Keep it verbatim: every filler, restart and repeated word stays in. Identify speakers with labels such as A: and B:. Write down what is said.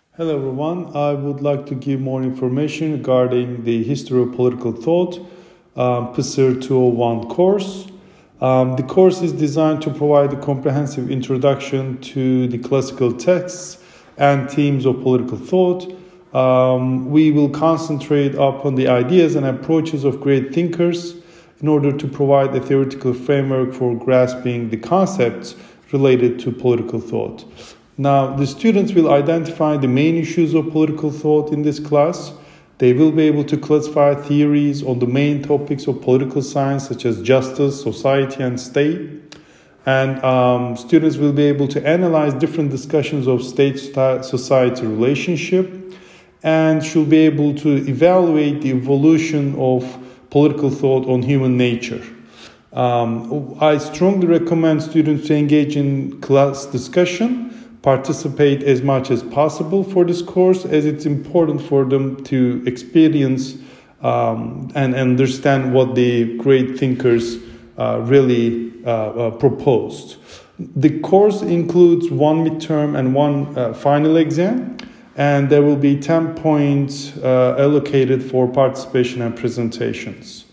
A: Hello everyone, I would like to give more information regarding the History of Political Thought, um, P S I R two oh one course. Um, the course is designed to provide a comprehensive introduction to the classical texts and themes of political thought. Um, we will concentrate upon the ideas and approaches of great thinkers in order to provide a theoretical framework for grasping the concepts related to political thought. Now, the students will identify the main issues of political thought in this class. They will be able to classify theories on the main topics of political science, such as justice, society, and state. And um, students will be able to analyze different discussions of state-society relationship and should be able to evaluate the evolution of political thought on human nature. Um, I strongly recommend students to engage in class discussion, participate as much as possible for this course, as it's important for them to experience um, and understand what the great thinkers uh, really uh, uh, proposed. The course includes one midterm and one uh, final exam, and there will be ten points uh, allocated for participation and presentations.